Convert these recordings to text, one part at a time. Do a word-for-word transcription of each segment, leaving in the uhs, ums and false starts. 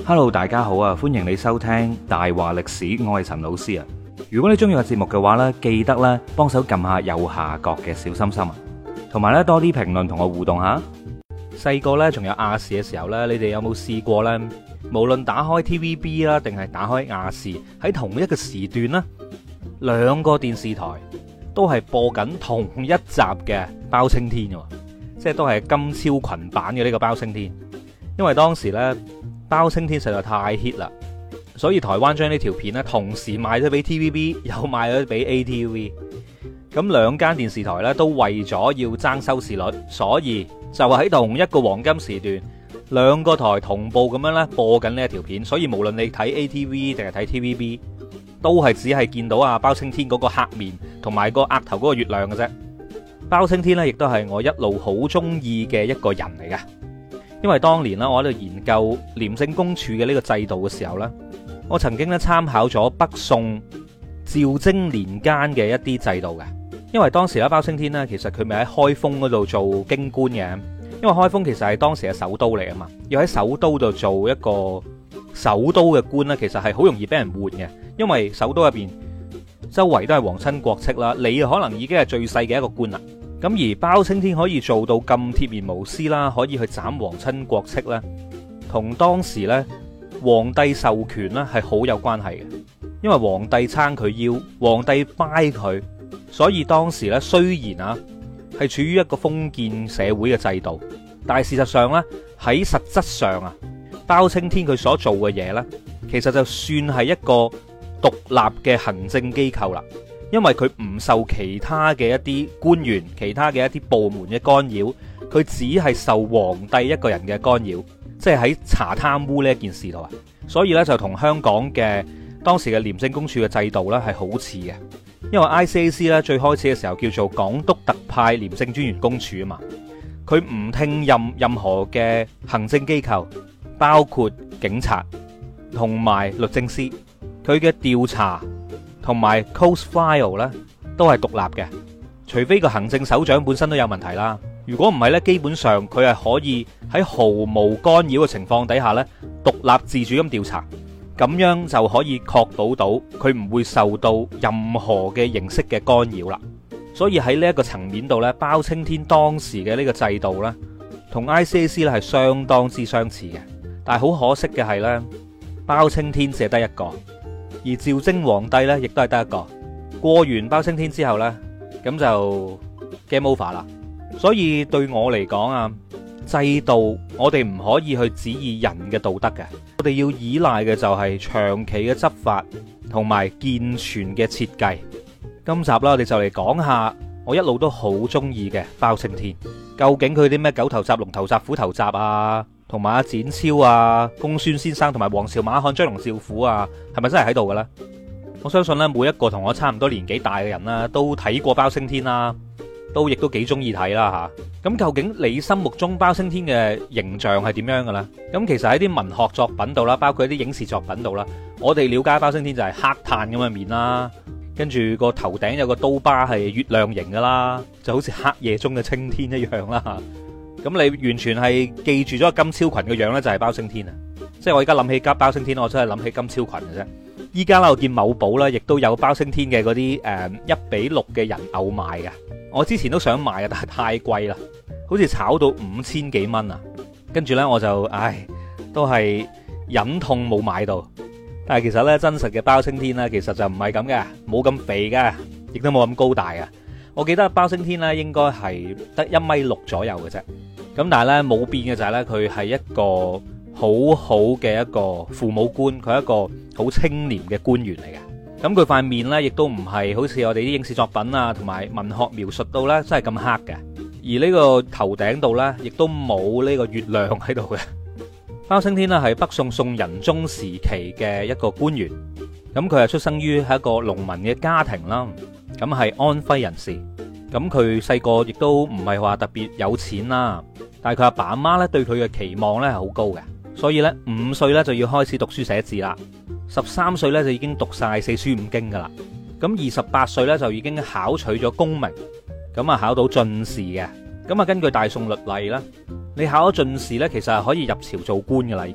Hello， 大家好啊！歡迎你收聽大話歷史，我係陳老師啊。如果你中意個節目嘅話呢，記得咧幫手撳下右下角嘅小心心啊，同埋咧多啲評論同我互動下。細個呢，仲有亞視嘅時候呢，你哋有冇試過呢？無論打開 T V B 啦，定係打開亞視，喺同一個時段呢，兩個電視台都係播緊同一集嘅包青天嘅，即係都係金超群版嘅呢個包青天。因為當時呢，包青天實在太 hit 啦，所以台灣將呢條片呢同時賣咗俾 T V B， 又賣咗俾 A T V。咁兩間電視台呢都為咗要爭收視率，所以就喺同一個黃金時段，兩個台同步咁樣咧播緊呢一條片。所以無論你睇 A T V 定係睇 T V B， 都係只係見到啊包青天嗰個黑面同埋個額頭嗰個月亮嘅啫。包青天呢亦都係我一路好中意嘅一個人嚟嘅。因為當年啦，我喺度研究廉政公署嘅呢個制度嘅時候呢，我曾經咧參考咗北宋趙禎年間嘅一啲制度嘅。因為當時咧包青天呢，其實佢咪喺開封嗰度做京官嘅。因為開封其實係當時嘅首都嚟啊嘛，要喺首都度做一個首都嘅官呢，其實係好容易俾人換嘅。因為首都入邊周圍都係皇親國戚啦，你可能已經係最細嘅一個官啦。咁而包青天可以做到咁鐵面無私啦，可以去斬皇親國戚咧，同當時咧皇帝授權咧係好有關係嘅。因為皇帝撐佢腰，皇帝掰佢，所以當時咧雖然啊係處於一個封建社會嘅制度，但係事實上咧喺實質上啊，包青天佢所做嘅嘢咧，其實就算係一個獨立嘅行政機構啦。因為佢唔受其他嘅一啲官員、其他嘅一啲部門嘅干擾，佢只係受皇帝一個人嘅干擾，即係喺查貪污呢一件事度啊。所以咧就同香港嘅當時嘅廉政公署嘅制度咧係好似嘅。因為 I C A C 咧最開始嘅時候叫做港督特派廉政專員公署啊嘛，佢唔聽任任何嘅行政機構，包括警察同埋律政司，佢嘅調查同埋 close file 咧都係獨立嘅，除非個行政首長本身都有問題啦。如果唔係咧，基本上佢係可以喺毫無干擾嘅情況底下咧，獨立自主咁調查，咁樣就可以確保到佢唔會受到任何嘅形式嘅干擾啦。所以喺呢一個層面度咧，包青天當時嘅呢個制度咧，同 I C A C 咧係相當之相似嘅。但係好可惜嘅係咧，包青天只係得一個。而趙禎皇帝咧，亦都係得一個。過完包青天之後呢，咁就 game over 啦。所以對我嚟講啊，制度我哋唔可以去指意人嘅道德嘅，我哋要依賴嘅就係長期嘅執法同埋健全嘅設計。今集啦，我哋就嚟講下我一路都好中意嘅包青天，究竟佢啲咩狗頭鍘、龍頭鍘、虎頭鍘啊，同埋阿展超啊、公孫先生同埋王朝馬漢、張龍趙虎啊，係咪真係喺度嘅咧？我相信咧，每一個同我差唔多年紀大嘅人啦，都睇過包青天啦，都亦都幾中意睇啦吓。咁究竟你心目中包青天嘅形象係點樣嘅咧？咁其實喺啲文學作品度啦，包括一啲影視作品度啦，我哋了解包青天就係黑炭咁嘅面啦，跟住個頭頂有個刀疤係月亮形噶啦，就好似黑夜中嘅青天一樣啦。咁你完全係記住咗金超群嘅樣呢，就係包青天啊！即係我而家諗起夾包青天，我真係諗起金超群嘅啫。依家啦，我見某寶啦，亦都有包青天嘅嗰啲誒一比六嘅人偶賣嘅。我之前都想買啊，但係太貴啦，好似炒到五千幾蚊啊！跟住呢，我就唉，都係忍痛冇買到。但係其實呢，真實嘅包青天呢，其實就唔係咁嘅，冇咁肥嘅，亦都冇咁高大嘅。我記得包青天咧應該係得一米六左右嘅啫，咁但係咧冇變嘅就係咧佢係一個好好嘅一個父母官，佢係一個好清廉嘅官員嚟嘅。咁佢塊面咧亦都唔係好似我哋啲影視作品啊同埋文學描述到咧真係咁黑嘅，而呢個頭頂度咧亦都冇呢個月亮喺度嘅。包青天咧係北宋宋仁宗時期嘅一個官員，咁佢係出生於係一個農民嘅家庭啦。咁係安徽人士，咁佢細個亦都唔係話特別有錢啦，但係佢阿爸阿媽咧對佢嘅期望咧係好高嘅，所以咧五歲咧就要開始讀書寫字啦，十三歲咧就已經讀晒四書五經噶啦，咁二十八歲咧就已經考取咗功名，咁啊考到進士嘅，咁啊根據大宋律例啦，你考咗進士咧，其實係可以入朝做官噶啦已經，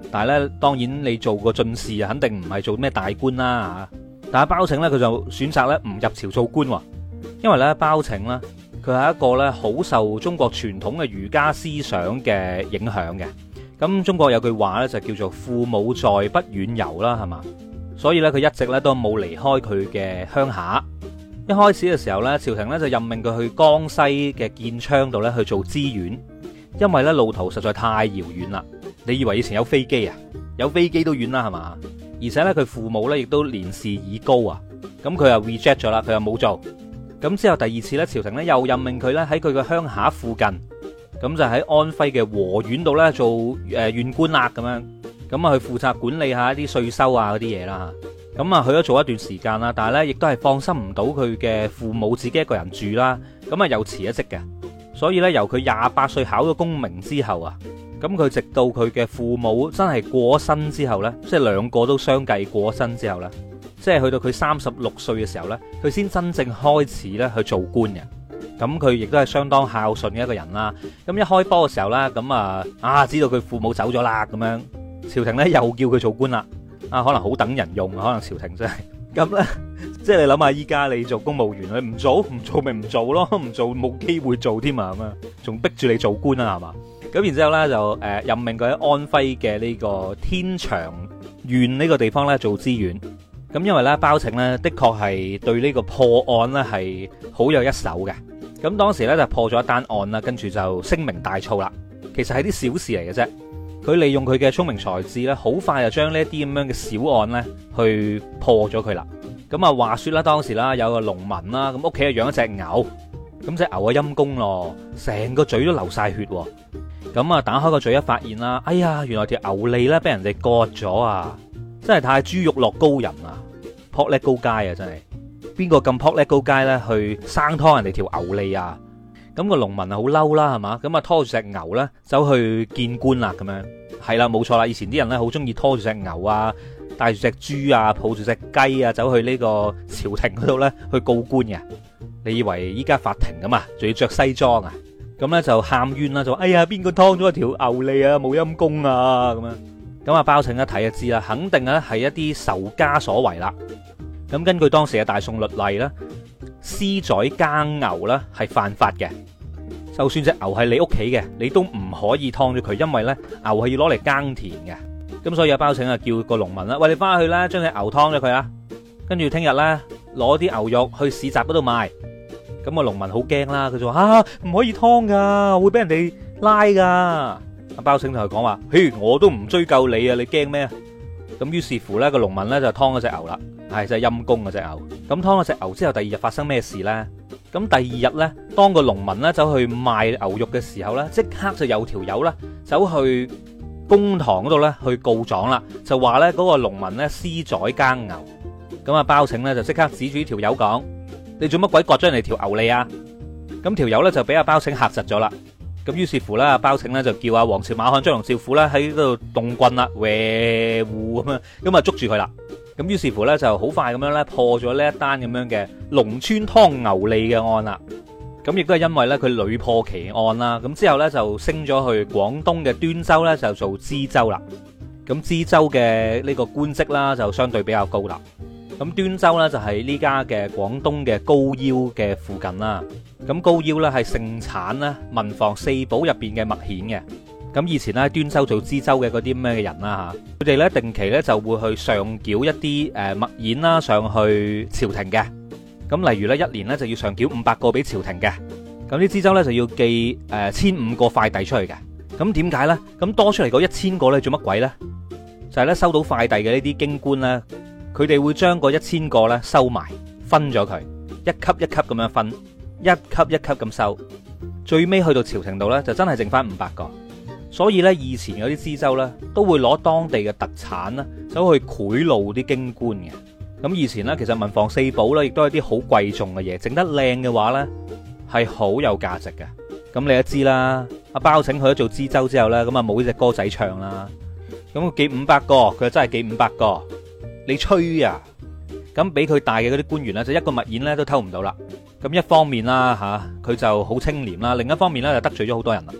但係咧，當然你做個進士啊，肯定唔係做咩大官啦嚇。但係包拯咧，佢就選擇咧唔入朝做官喎，因為咧包拯咧，佢係一個咧好受中國傳統嘅儒家思想嘅影響嘅。咁中國有句話咧就叫做父母在不遠遊啦，係嘛？所以咧佢一直咧都冇離開佢嘅鄉下。一開始嘅時候咧，朝廷咧就任命佢去江西嘅建昌度咧去做知縣，因為咧路途實在太遙遠啦。你以為以前有飛機啊？有飛機都遠啦，係嘛？而且咧佢父母咧亦都年事已高啊，咁佢又 reject 咗啦，佢又冇做。咁之後第二次咧，朝廷咧又任命佢咧喺佢嘅鄉下附近，咁就喺安徽嘅和縣度咧做誒縣官啦咁樣，咁啊去負責管理下一啲稅收啊嗰啲嘢啦。咁啊去咗做一段時間啦，但係咧亦都係放心唔到佢嘅父母自己一個人住啦，咁啊又辭咗職嘅。所以咧由佢廿八歲考咗功名之後啊，咁佢直到佢嘅父母真係過咗身之後呢，即係兩個都相繼過咗身之後呢，即係去到佢三十六歲嘅時候呢，佢先真正開始咧去做官嘅。咁佢亦都係相當孝順嘅一個人啦。咁一開波嘅時候呢，咁啊啊知道佢父母走咗啦，咁樣朝廷呢又叫佢做官啦。啊，可能好等人用，可能朝廷真係咁呢，即係你諗下，依家你做公務員，你唔做唔做咪唔做咯，唔做冇機會做添啊，咁啊，仲逼住你做官啊，係嘛？咁然之後咧就誒任命佢喺安徽嘅呢個天長縣呢個地方咧做知縣。咁因為咧包拯咧的確係對呢個破案咧係好有一手嘅。咁當時咧就破咗一單案啦，跟住就聲名大噪啦。其實係啲小事嚟嘅啫。佢利用佢嘅聰明才智咧，好快就將呢一啲咁樣嘅小案咧去破咗佢啦。咁啊話說啦，當時啦有個農民啦，咁屋企啊養一隻牛，咁隻牛啊陰公咯，成個嘴都流晒血。咁啊打開個嘴一發現啦，哎呀，原來條牛脷咧俾人哋割咗啊！真係太豬肉落高人啊，撲叻高街啊！真係邊個咁撲叻高街咧去生拖人哋條牛脷啊？咁個農民啊好嬲啦，係嘛？咁啊拖住隻牛咧走去見官啦，咁樣係啦，冇錯啦。以前啲人咧好中意拖住隻牛啊，帶住隻豬啊，抱住隻雞啊，走去呢個朝廷嗰度咧去告官嘅。你以為依家法庭咁啊？仲要着西裝啊？咁咧就喊冤啦，就話哎呀邊個劏咗條牛脷啊，冇陰公啊咁樣。咁啊包拯一睇就知啦，肯定咧係一啲仇家所為啦。咁根據當時嘅大宋律例咧，私宰耕牛咧係犯法嘅。就算隻牛係你屋企嘅，你都唔可以劏咗佢，因為咧牛係要攞嚟耕田嘅。咁所以阿包拯啊叫個農民啦，喂，你翻去啦，將隻牛劏咗佢啊，跟住聽日咧攞啲牛肉去市集嗰度賣。咁個農民好驚啦，佢就話啊唔可以劏噶，會俾人哋拉噶。阿包拯同佢講話，嘿，我都唔追究你啊，你驚咩啊？咁於是乎咧，個農民咧就劏咗隻牛啦，係真係陰公啊隻牛。咁劏咗隻牛之後，第二日發生咩事咧？咁第二日咧，當個農民咧走去賣牛肉嘅時候咧，即刻就有條友啦走去公堂嗰度咧去告狀啦，就話咧嗰個農民咧私宰耕牛。咁啊包拯咧就即刻指住呢條友講，你做乜鬼割咗人哋條牛脷啊？咁條友咧就俾阿包拯嚇窒咗啦。咁於是乎咧，阿包拯咧就叫阿王朝馬漢張龍趙虎咧喺嗰度動棍啦，喂胡咁樣，咁啊捉住佢啦。咁於是乎咧就好快咁樣咧破咗呢一單咁樣嘅農村劏牛脷嘅案啦。咁亦都係因為咧佢屢破奇案啦，咁之後咧就升咗去廣東嘅端州咧就做知州啦。咁知州嘅呢個官職啦就相對比較高啦。咁端州咧就係呢家嘅廣東嘅高腰嘅附近啦。咁高腰咧係盛產咧文房四寶入邊嘅墨硯嘅。咁以前咧端州做知州嘅嗰啲咩嘅人啦吓，佢哋咧定期咧就會去上繳一啲誒墨硯啦上去朝廷嘅。咁例如咧一年咧就要上繳五百個俾朝廷嘅。咁啲知州咧就要寄誒千五個快遞出去嘅。咁點解咧？咁多出嚟嗰一千個咧做乜鬼咧？就係咧收到快遞嘅呢啲京官咧，佢哋會將嗰一千個咧收埋，分咗佢，一級一級咁樣分，一級一級咁收，最尾去到朝廷度咧就真係剩翻五百個。所以咧以前嗰啲知州咧都會攞當地嘅特產啦，走去賄賂啲京官嘅。咁以前咧其實文房四寶咧亦都係啲好貴重嘅嘢，整得靚嘅話咧係好有價值嘅。咁你都知啦，阿包拯去咗做知州之後咧，咁啊冇呢隻歌仔唱啦。咁佢寄五百個，佢真係寄五百個。你吹啊！咁俾佢大嘅嗰啲官員咧，就一個墨硯咧都偷唔到啦。咁一方面啦吓，佢就好清廉啦；另一方面咧就得罪咗好多人啦。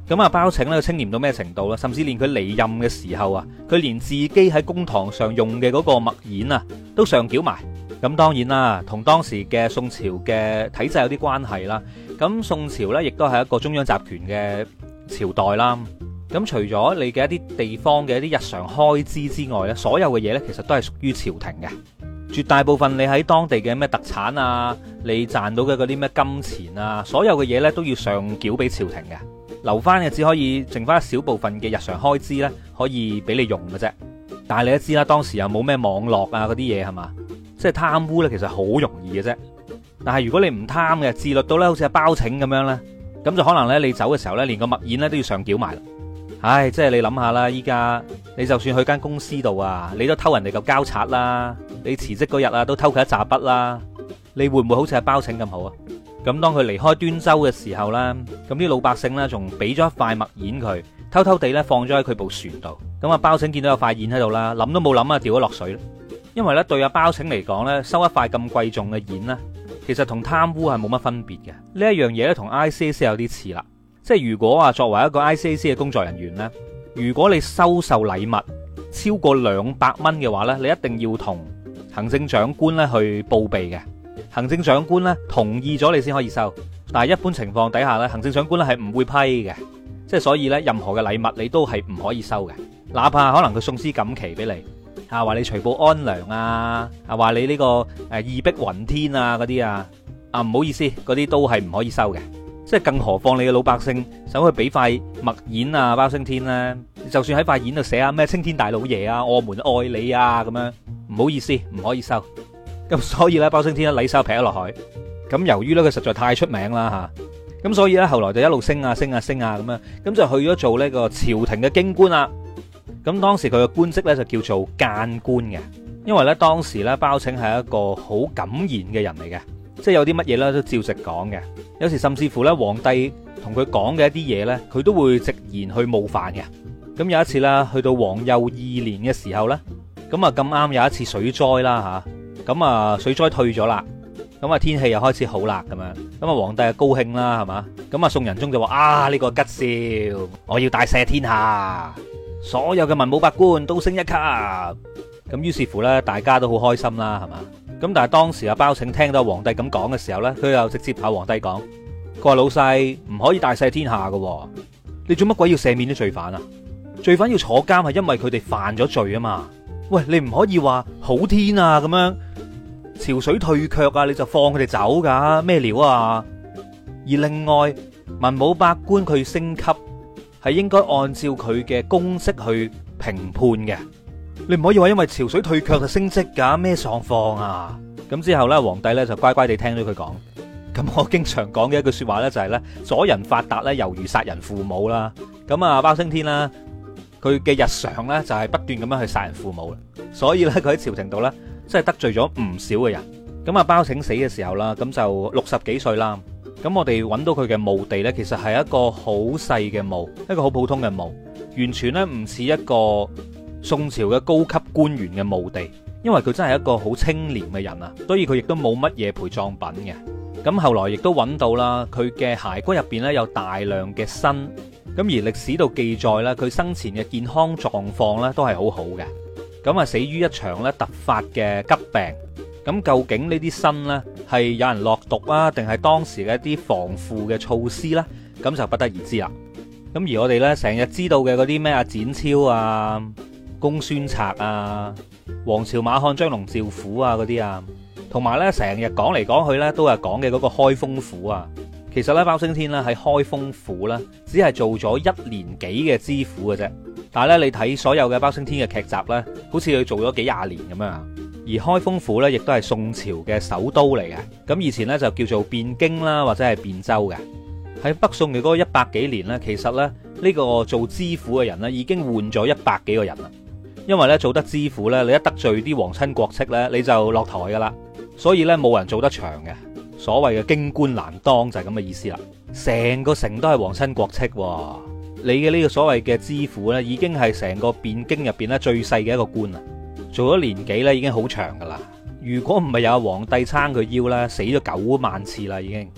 咁啊，包拯咧清廉到咩程度啦？甚至連佢離任嘅時候啊，佢連自己喺公堂上用嘅嗰個墨硯啊，都上繳埋。咁當然啦，同當時嘅宋朝嘅體制有啲關係啦。咁宋朝呢，亦都係一個中央集權嘅朝代啦。咁除咗你嘅一啲地方嘅一啲日常開支之外呢，所有嘅嘢呢，其實都係屬於朝廷嘅。絕大部分你喺當地嘅咩特產啊，你賺到嘅嗰啲咩金錢啊，所有嘅嘢呢，都要上繳俾朝廷嘅。留翻嘅只可以剩翻一小部分嘅日常開支呢，可以俾你用嘅啫。但係你都知啦，當時又冇咩網絡啊嗰啲嘢係嘛，即係貪污呢，其實好容易嘅啫。但係如果你唔貪嘅，自律到呢好似阿包拯咁樣呢，咁就可能呢，你走嘅時候呢，連個墨硯呢都要上繳埋啦。唉，即係你諗下啦，依家你就算去間公司度啊，你都偷人哋嚿膠擦啦，你辭職嗰日啊都偷佢一紮筆啦，你會唔會好似阿包拯咁好啊？咁當佢離開端州嘅時候啦，咁啲老百姓呢，仲俾咗一塊墨硯佢，偷偷地呢放咗喺佢部船度。咁阿包拯見到有塊硯喺度啦，諗都冇諗啊，掉咗落水。因為呢，對阿包拯嚟講呢，收一塊咁貴重嘅硯呢，其實同貪污係冇乜分別嘅。呢一樣嘢呢，同 I C A C 有啲似啦。即係如果啊，作為一個 I C A C 嘅工作人員呢，如果你收受禮物超過兩百蚊嘅話呢，你一定要同行政長官呢去報備嘅。行政長官咧同意咗你先可以收，但係一般情況底下咧，行政長官咧係唔會批嘅，即係所以咧任何嘅禮物你都係唔可以收嘅，哪怕可能佢送絲錦旗俾你，啊話你除暴安良啊，啊話你呢個誒義薄雲天啊嗰啲啊，啊唔好意思，嗰啲都係唔可以收嘅，即係更何況你嘅老百姓想去俾塊墨硯啊包青天咧，就算喺塊硯度寫啊咩青天大老爺啊，我們愛你啊咁樣，唔好意思，唔可以收。咁所以咧，包青天咧禮手劈咗落海。咁由於咧佢實在太出名啦吓，咁所以咧後來就一路升啊升啊升啊咁樣，咁就去咗做呢個朝廷嘅京官啦。咁當時佢嘅官職咧就叫做諫官嘅，因為咧當時咧包拯係一個好敢言嘅人嚟嘅，即係有啲乜嘢咧都照直講嘅。有時甚至乎咧皇帝同佢講嘅一啲嘢咧，佢都會直言去冒犯嘅。咁有一次啦，去到皇佑二年嘅時候咧，咁啊咁啱有一次水災啦吓。咁啊，水災退咗啦，咁啊天氣又開始好啦，咁樣，咁啊皇帝啊高興啦，係嘛，咁啊宋仁宗就話啊呢個吉兆，我要大赦天下，所有嘅文武百官都升一級，咁於是乎呢，大家都好開心啦，係嘛，咁但係當時阿包拯聽到皇帝咁講嘅時候呢，佢又直接同皇帝講，佢話老細唔可以大赦天下噶，你做乜鬼要赦免啲罪犯啊？罪犯要坐監係因為佢哋犯咗罪啊嘛，喂，你唔可以話好天啊咁樣。潮水退卻啊，你就放佢哋走噶咩料啊？而另外文武百官佢升級係應該按照佢嘅功績去評判嘅，你唔可以話因為潮水退卻就升職噶咩狀況啊？咁之後呢，皇帝呢就乖乖地聽咗佢講。咁我經常講嘅一句說話呢，就係呢：阻人發達呢，猶如殺人父母啦。咁啊包青天啦，佢嘅日常呢，就係不斷咁樣去殺人父母啦，所以呢，佢喺朝廷度呢，真係得罪咗唔少嘅人。咁啊包拯死嘅時候啦，咁就六十幾歲啦。咁我哋揾到佢嘅墓地呢，其實係一個好細嘅墓，一個好普通嘅墓，完全呢唔似一個宋朝嘅高級官員嘅墓地，因為佢真係一個好清廉嘅人啊，所以佢亦都冇乜嘢陪葬品嘅。咁後來亦都揾到啦，佢嘅骸骨入邊呢有大量嘅砷，咁而歷史度記載呢，佢生前嘅健康狀況呢都係好好嘅。咁啊死於一場咧突發嘅急病。咁究竟呢啲砷呢係有人落毒啊，定係當時嘅一啲防腐嘅措施呢？咁就不得而知啦。咁而我哋呢，成日知道嘅嗰啲咩啊展昭啊、公孫策啊、王朝馬漢張龍趙虎啊嗰啲啊，同埋呢成日講嚟講去呢都係講嘅嗰個開封府啊。其實呢，包青天呢喺開封府呢，只係做咗一年幾嘅知府嘅啫。但係咧，你睇所有嘅包青天嘅劇集呢，好似佢做咗幾廿年咁樣。而開封府呢，亦都係宋朝嘅首都嚟嘅。咁以前呢，就叫做汴京啦，或者係汴州嘅。喺北宋嘅嗰個一百幾年呢，其實呢，呢個做知府嘅人呢，已經換咗一百幾個人啦。因為呢，做得知府呢，你一得罪啲皇親國戚呢，你就落台噶啦。所以呢，冇人做得長嘅。所謂嘅京官難當就係咁嘅意思啦。成個城都係皇親國戚喎。你嘅呢個所謂嘅知府呢，已經係成個汴京入邊咧最細嘅一個官啦。做咗年幾咧，已經好長噶啦。如果唔係有皇帝撐佢腰咧，死咗九萬次啦已經。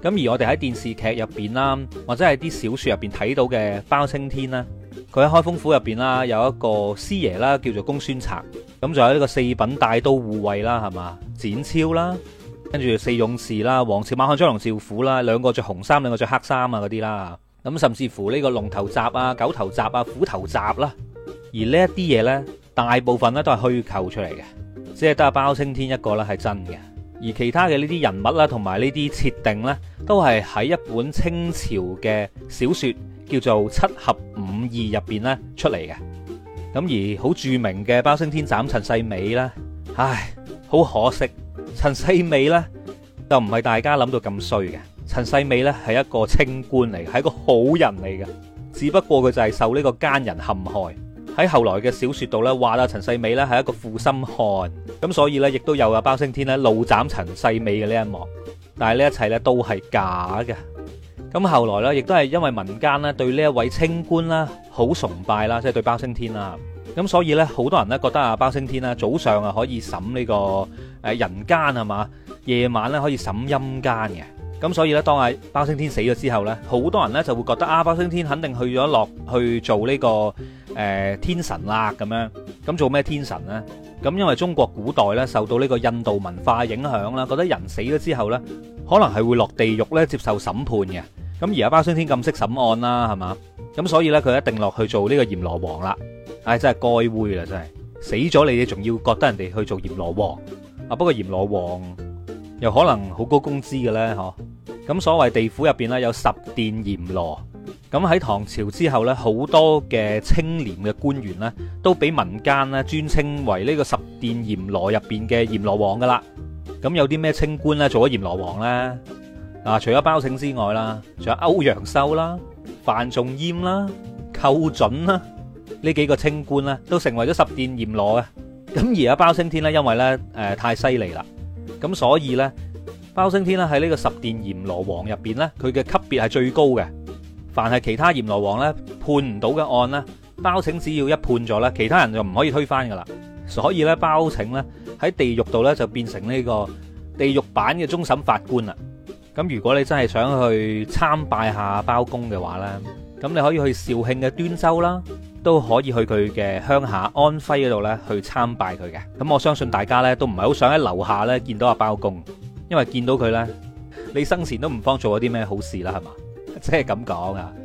咁而我哋喺電視劇入邊啦，或者係啲小說入邊睇到嘅包青天啦，佢喺開封府入邊啦，有一個師爺啦，叫做公孫策。咁仲有呢個四品帶刀護衛啦，係嘛？展超啦，跟住四勇士啦，王朝、馬漢、張龍、趙虎啦，兩個着紅衫，兩個着黑衫啊嗰啲啦。咁甚至乎呢個龍頭閘啊、狗頭閘啊、虎頭閘啦。而呢一啲嘢呢，大部分呢都係虛構出嚟嘅，只係得阿包青天一個咧係真嘅。而其他嘅呢啲人物啦，同埋呢啲設定呢，都係喺一本清朝嘅小說叫做《七俠五義》入邊咧出嚟嘅。咁而好著名嘅包青天斬陳世美啦，唉，好可惜，陳世美呢就唔係大家諗到咁衰嘅。陳世美呢係一個清官嚟嘅，係一個好人嚟嘅，只不過佢就係受呢個奸人陷害。喺後來嘅小說度咧，話阿陳世美咧係一個負心漢，咁所以咧亦都有阿包青天咧怒斬陳世美嘅呢一幕。但係呢一切咧都係假嘅。咁後來咧亦都係因為民間咧對呢一位清官啦好崇拜啦，即係對包青天啦。咁所以咧好多人咧覺得阿包青天啦早上啊可以審呢個誒人間係嘛，夜晚咧可以審陰間嘅。咁所以咧，當阿包青天死咗之後咧，好多人咧就會覺得啊，包青天肯定去咗落去做呢、這個誒、呃、天神啦咁樣。咁做咩天神呢？咁因為中國古代咧受到呢個印度文化影響啦，覺得人死咗之後咧，可能係會落地獄咧接受審判嘅。咁而家包青天咁識審案啦，係嘛？咁所以咧佢一定落去做呢個閻羅王啦。唉、哎，真係該煨啦，真係死咗你哋仲要覺得人哋去做閻羅王啊？不過閻羅王又可能好高工資嘅咧，嗬？咁所謂地府入邊咧有十殿閻羅，咁喺唐朝之後咧，好多嘅清廉嘅官員咧，都俾民間咧尊稱為呢個十殿閻羅入邊嘅閻羅王噶啦。咁有啲咩清官咧做咗閻羅王咧？嗱，除咗包拯之外啦，仲有歐陽修啦、范仲淹啦、寇準啦，呢幾個清官咧都成為咗十殿閻羅嘅。咁而家包青天咧，因為咧誒太犀利啦，咁所以咧。包青天咧喺呢個十殿閻羅王入邊咧，佢嘅級別係最高嘅。凡係其他閻羅王咧判唔到嘅案咧，包拯只要一判咗咧，其他人就唔可以推翻噶啦。所以咧，包拯咧喺地獄度咧就變成呢個地獄版嘅終審法官啦。咁如果你真係想去參拜下包公嘅話咧，咁你可以去肇慶嘅端州啦，都可以去佢嘅鄉下安徽嗰度咧去參拜佢嘅。咁我相信大家咧都唔係好想喺樓下咧見到阿包公。因為見到佢呢，你生前都唔方做咗啲咩好事啦，係嘛？即係咁講啊！